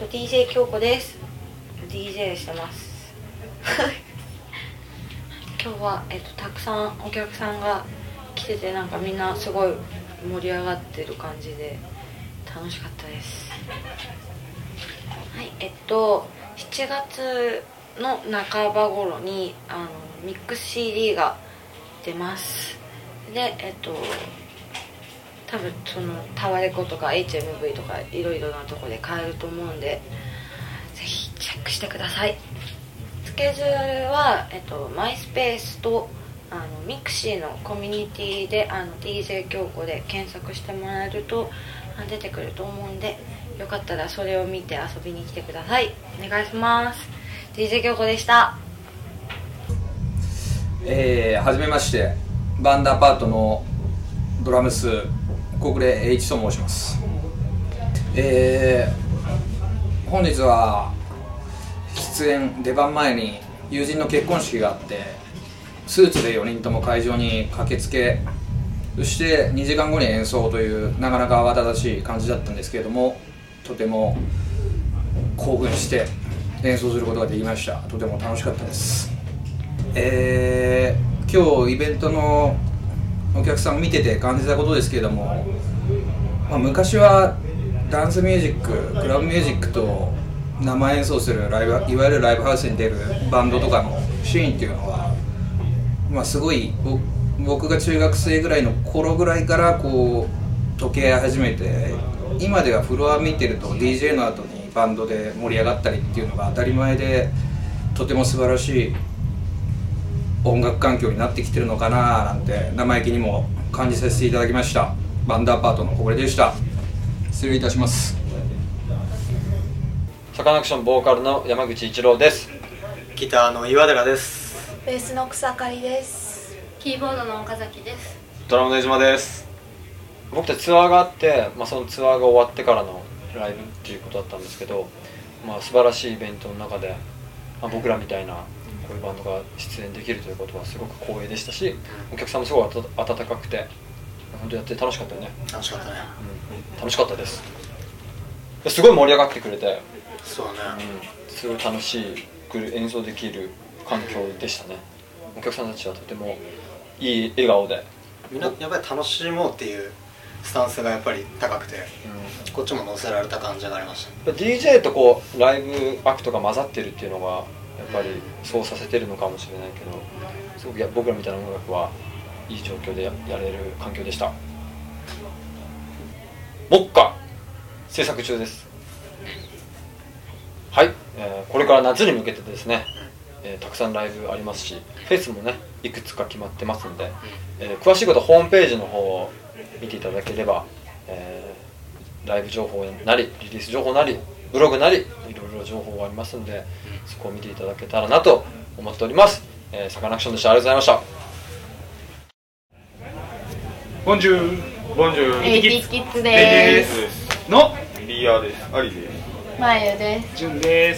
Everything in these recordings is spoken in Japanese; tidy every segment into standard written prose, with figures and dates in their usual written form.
DJ 京子です。DJ してます今日は、たくさんお客さんが来てて、なんかみんなすごい盛り上がってる感じで楽しかったです。はい、7月の半ば頃にミックス CD が出ます。で多分そのタワレコとか HMV とかいろいろなとこで買えると思うんで、ぜひチェックしてください。スケジュールは、マイスペースとミクシーのコミュニティでDJ 京子で検索してもらえると出てくると思うんで、よかったらそれを見て遊びに来てください。お願いします。 DJ 京子でした。 はじめまして、バンダーパートのドラムス小暮栄一と申します。本日は出番前に友人の結婚式があって、スーツで4人とも会場に駆けつけ、そして2時間後に演奏というなかなか慌ただしい感じだったんですけれども、とても興奮して演奏することができました。とても楽しかったです。今日イベントのお客さんを見てて感じたことですけれども、昔はダンスミュージック、クラブミュージックと生演奏するいわゆるライブハウスに出るバンドとかのシーンっていうのは、すごい僕が中学生ぐらいの頃ぐらいからこう溶け始めて、今ではフロア見てると DJ の後にバンドで盛り上がったりっていうのが当たり前で、とても素晴らしい音楽環境になってきてるのかななんて生意気にも感じさせていただきました。バンダーパートの小暮でした。失礼いたします。 サカナクションボーカルの山口一郎です。 ギターの岩寺です。 ベースの草刈です。 キーボードの岡崎です。 ドラムの江島です。 僕たちツアーがあって、そのツアーが終わってからのライブっていうことだったんですけど、素晴らしいイベントの中で、僕らみたいなこういうバンドが出演できるということはすごく光栄でしたし、お客さんもすごい温かくて、本当やって楽しかったよね。 楽しかったね、 楽しかったです。すごい盛り上がってくれて、 そうね、 すごい楽しく演奏できる環境でしたね。お客さんたちはとてもいい笑顔で、 みんなやっぱり楽しもうっていうスタンスがやっぱり高くて、こっちも乗せられた感じがありました。 DJ とこうライブアクトが混ざってるっていうのがやっぱりそうさせてるのかもしれないけど、すごく僕らみたいな音楽はいい状況でやれる環境でした。目下制作中です。はい、これから夏に向けてですね、たくさんライブありますし、フェスもねいくつか決まってますんで、詳しいことはホームページの方を見ていただければ、ライブ情報なりリリース情報なりブログなりいろいろ情報がありますんで、そこを見ていただけたらなと思っております。サカナクションでした。ありがとうございました。 ボンジューボンジュー、 エイティキッズです。 のリーヤーです。アリです。 まゆです。 ジュンです。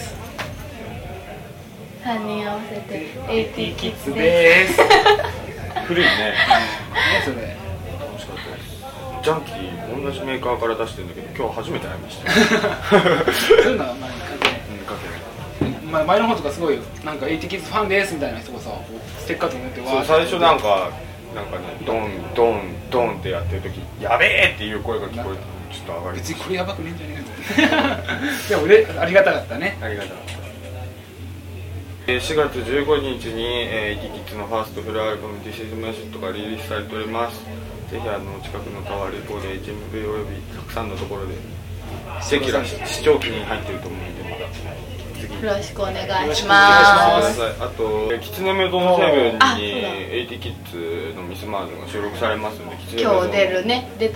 3人合わせてエイティキッズです。古いね。 何それ。楽しかったです。ジャンキー同じメーカーから出してるんだけど、今日初めて会いました。 そういうのは前に前の方とかすごいなんかエイティキッズファンですみたいな人がさ、ステッカーとか持ってそう、最初なんかね、ドンドンドンってやってる時、やべえっていう声が聞こえて、ちょっと上がり。 別にこれやばくねえんじゃねえかと。でもありがたかったね。 ありがたかった。4月15日にエイティキッズのファーストフルアルバム「This is My Shit」がリリースされております。ぜひ近くのタワーレコード HMV およびたくさんのところでチェキラ視聴器に入ってると思うんで、まだよろしくお願いします。 あとキツネメドのセブンにエイティキッズのミスマーズが収録されますので、 今日出るね、出る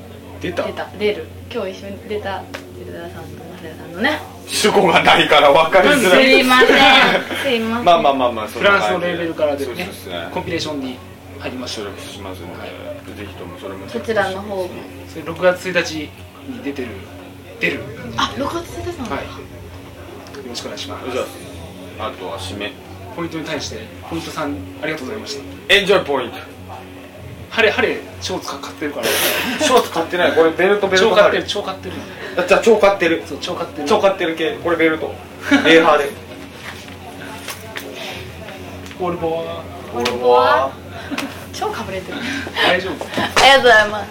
今日一緒に出た出田さんと増田さんのね、 主語がないから分かりづらい。 すいませんすいません。 まあフランスのレーベルから出るね、コンピレーションに入りました。 収録しますので、ぜひともそれもそちらの方もそれ6月1日に出る。 あ、6月1日なの。 はい、よろしくお願いします。 じゃあ、あとは締めポイントに対してポイントさんありがとうございました。 エンジョイポイント。 ハレショーツ買ってるから。 ショーツ買ってない。これベルト超買ってる。 じゃあ超買ってる。 そう超買ってる。 超買ってる系。これベルト。レーハーで。 オールボア。 オルボア超かぶれてる。 大丈夫。 ありがとうございます。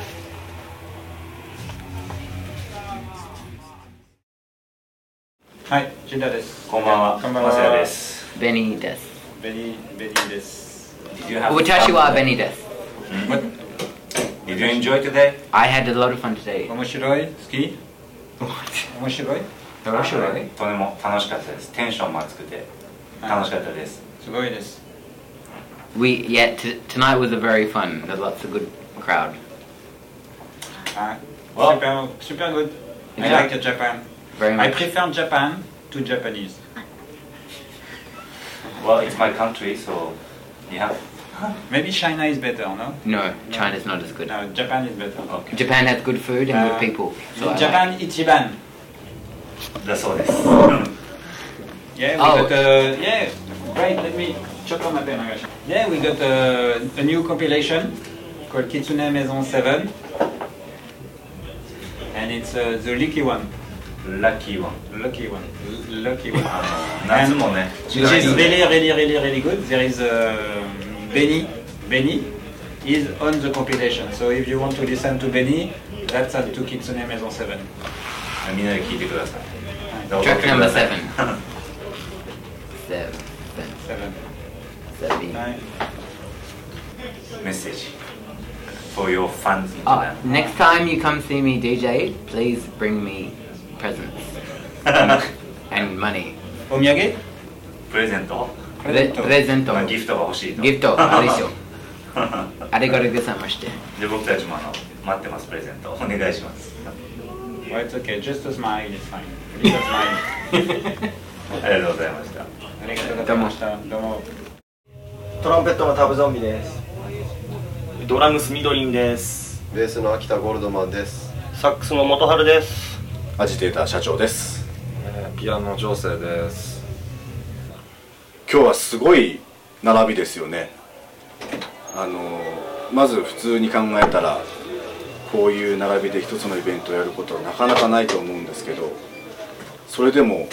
はい、ジュンダです。 こんばんは。 こんばんは。 マサヤです。 ベニーです。 ベニーです。 私はベニーです。 Did you enjoy today? I had a lot of fun today. 面白い？好き？面白い？ 面白い？とても楽しかったです。テンションも熱くて楽しかったです。 すごいです。 Tonight was a very fun. There's lots of good crowd. Super good. I like Japan. Very I much. prefer Japan to Japanese. Well, it's my country, so yeah. Maybe China is better, no? No, China's not as good. No, Japan is better. Okay. Japan has good food and good people. So Japan ichiban. だそうです。 Yeah, we Oh. got yeah. Right, let me check on my pen. Yeah, we got a new compilation called Kitsune Maison 7. And it's the lucky one. ラッキーワン。 Lucky one. Lucky one. 夏もね。 Which is really good. There is Benny. Benny is on the compilation. So if you want to listen to Benny, that's at to Kitsune Maison 7. みんなで聞いてください。 track number 7. メッセージ。For your fans in Oh, Japan. next time you come see me DJ, please bring me presents and money. お土産？ プレゼント？ プレゼント。 まあギフトが欲しいと。 ギフトあれでしょ。ありがとうございました。 で僕たちも待ってます。プレゼントお願いします。 Well, it's okay. Just a smile. It's fine. Just a smile. ありがとうございました。 ありがとうございました。どうも。 トランペットのタブゾンビです。 ドラムスミドリンです。 ベースの秋田ゴールドマンです。 サックスの元春です。 アジテーター社長です。 ピアノ情勢です。 今日はすごい並びですよね。まず普通に考えたらこういう並びで一つのイベントをやることはなかなかないと思うんですけど、それでも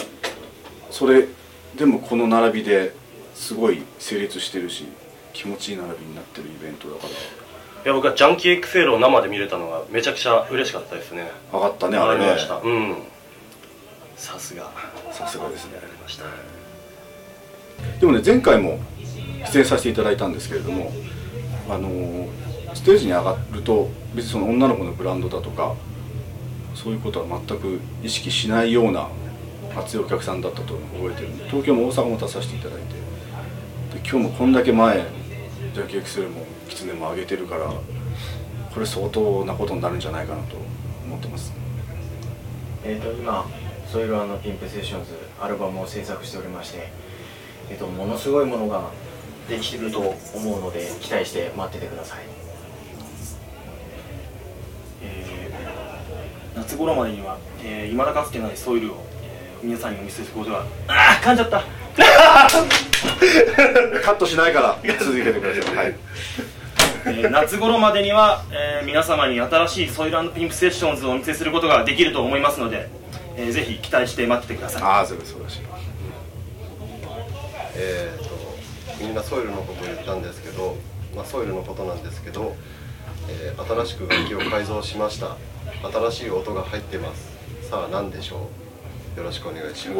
この並びですごい成立してるし気持ちいい並びになってるイベントだから。 いや僕はジャンキー XL を生で見れたのがめちゃくちゃ嬉しかったですね。 上がったねあれね。 うん。さすがですね。 やられました。 でもね前回も出演させていただいたんですけれども、ステージに上がると別にその女の子のブランドだとかそういうことは全く意識しないような熱いお客さんだったと覚えてるんで、東京も大阪も出させていただいて、で今日もこんだけ前ジャンキー XL もキツネも上げてるから、これ相当なことになるんじゃないかなと思ってます。 今ソイル&ピンプセッションズアルバムを制作しておりまして、ものすごいものができてると思うので期待して待っててください。 夏頃までには未だかつてないソイルを皆さんにお見せすることが噛んじゃったカットしないから続けてください。はい夏頃までには、皆様に新しいソイル&ピンプセッションズをお見せすることができると思いますので、ぜひ期待して待っててください。 ああ、そうです、そうだし。 みんなソイルのことを言ったんですけど、ソイルのことなんですけど、新しく楽器を改造しました。新しい音が入ってます。さあ何でしょう。よろしくお願いします。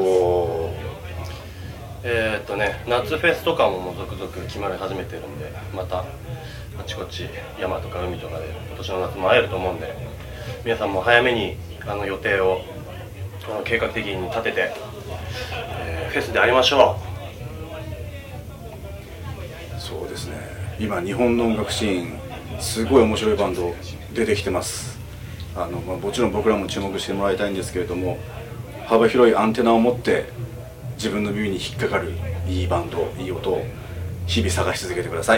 夏フェスとかも続々決まり始めてるんで、またあちこち山とか海とかで今年の夏も会えると思うんで、皆さんも早めに予定を計画的に立てて、フェスで会いましょう。そうですね、今日本の音楽シーンすごい面白いバンド出てきてます。もちろん僕らも注目してもらいたいんですけれども、幅広いアンテナを持って自分の耳に引っかかるいいバンド、いい音を日々探し続けてください。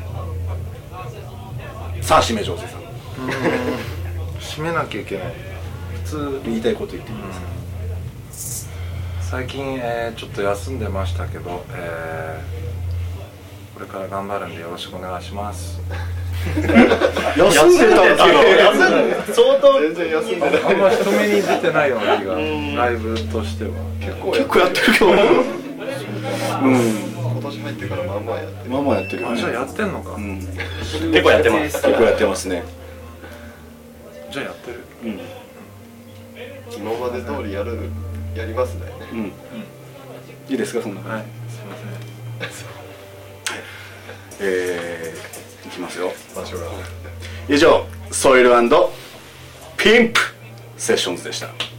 さあ締め上手さん。 締めなきゃいけない。 普通言いたいこと言ってください。 最近、ちょっと休んでましたけど、これから頑張るんでよろしくお願いします。 休んでたって相当全然休んでない。 あんま人目に出てないような気がライブとしては結構やってるけど今年入ってからまあまあやってる。 まあまあやってるよね。 じゃあやってんのか。 結構やってます。 結構やってますね。 じゃあやってる。 今まで通りやりますね。 いいですかそんな。 はい。すみません。 いきますよ。以上ソイル&ピンプセッションズでした。